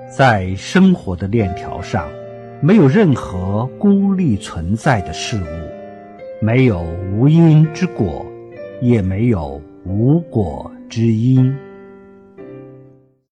在生活的链条上，没有任何孤立存在的事物，没有无因之果，也没有无果之因。